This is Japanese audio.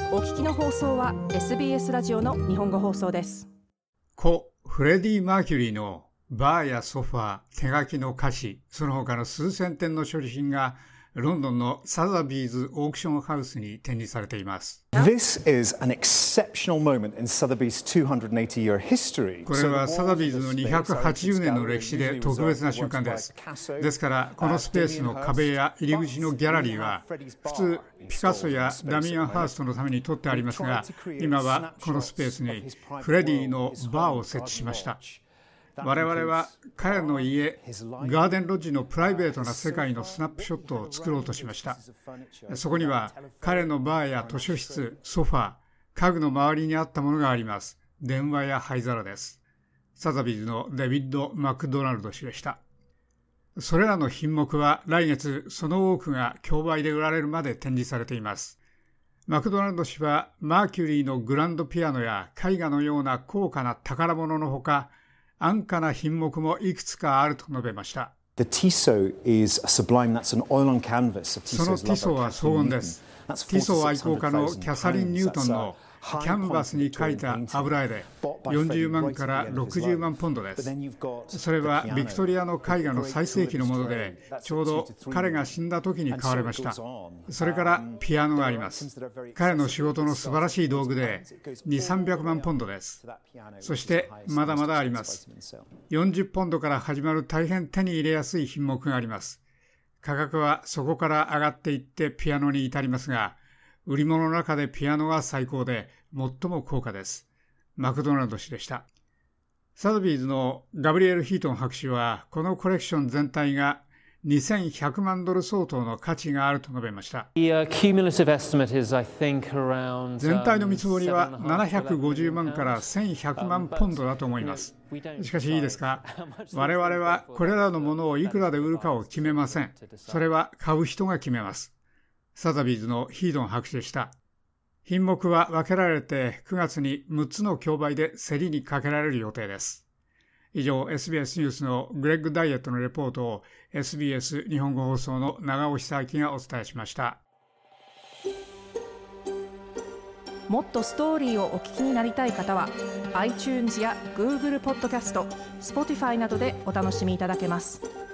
お聞きの放送は SBS ラジオの日本語放送です。 故フレディ・マーキュリーのバーやソファー、手書きの歌詞、その他の数千点の処理品がロンドンのサザビーズオークションハウスに展示されています。 This is an exceptional moment in Sotheby's 280-year history. これはサザビーズの280年の歴史で特別な瞬間です。ですからこのスペースの壁や入り口のギャラリーは普通ピカソやダミアン・ハーストのために取ってありますが、今はこのスペースにフレディのバーを設置しました。我々は彼の家、ガーデンロッジのプライベートな世界のスナップショットを作ろうとしました。そこには彼のバーや図書室、ソファー、家具の周りにあったものがあります。電話や灰皿です。サザビーズのデビッド・マクドナルド氏でした。それらの品目は来月その多くが競売で売られるまで展示されています。マクドナルド氏はマーキュリーのグランドピアノや絵画のような高価な宝物のほか、安価な品目もいくつかあると述べました。 The Tissot is sublime. That's an oil on canvas of その Tissot's ティソ lover, は荘厳です。ティソ愛好家のキャサリン・ニュートンのキャンバスに描いた油絵で40万から60万ポンドです。それはビクトリアの絵画の最盛期のもので、ちょうど彼が死んだ時に買われました。それからピアノがあります。彼の仕事の素晴らしい道具で2、300万ポンドです。そしてまだまだあります。40ポンドから始まる大変手に入れやすい品目があります。価格はそこから上がっていってピアノに至りますが、売り物の中でピアノが最高で最も高価です。マクドナルド氏でした。サザビーズのガブリエル・ヒートン博士は、このコレクション全体が2100万ドル相当の価値があると述べました。全体の見積もりは750万から1100万ポンドだと思います。しかしいいですか、我々はこれらのものをいくらで売るかを決めません。それは買う人が決めます。サザビーズのヒードン博士でした。品目は分けられて9月に6つの競売で競りにかけられる予定です。以上、SBS ニュースのグレッグ・ダイエットのレポートを SBS 日本語放送の長尾久明がお伝えしました。 もっとストーリーをお聞きになりたい方は iTunes や Google ポッドキャスト、Spotify などでお楽しみいただけます。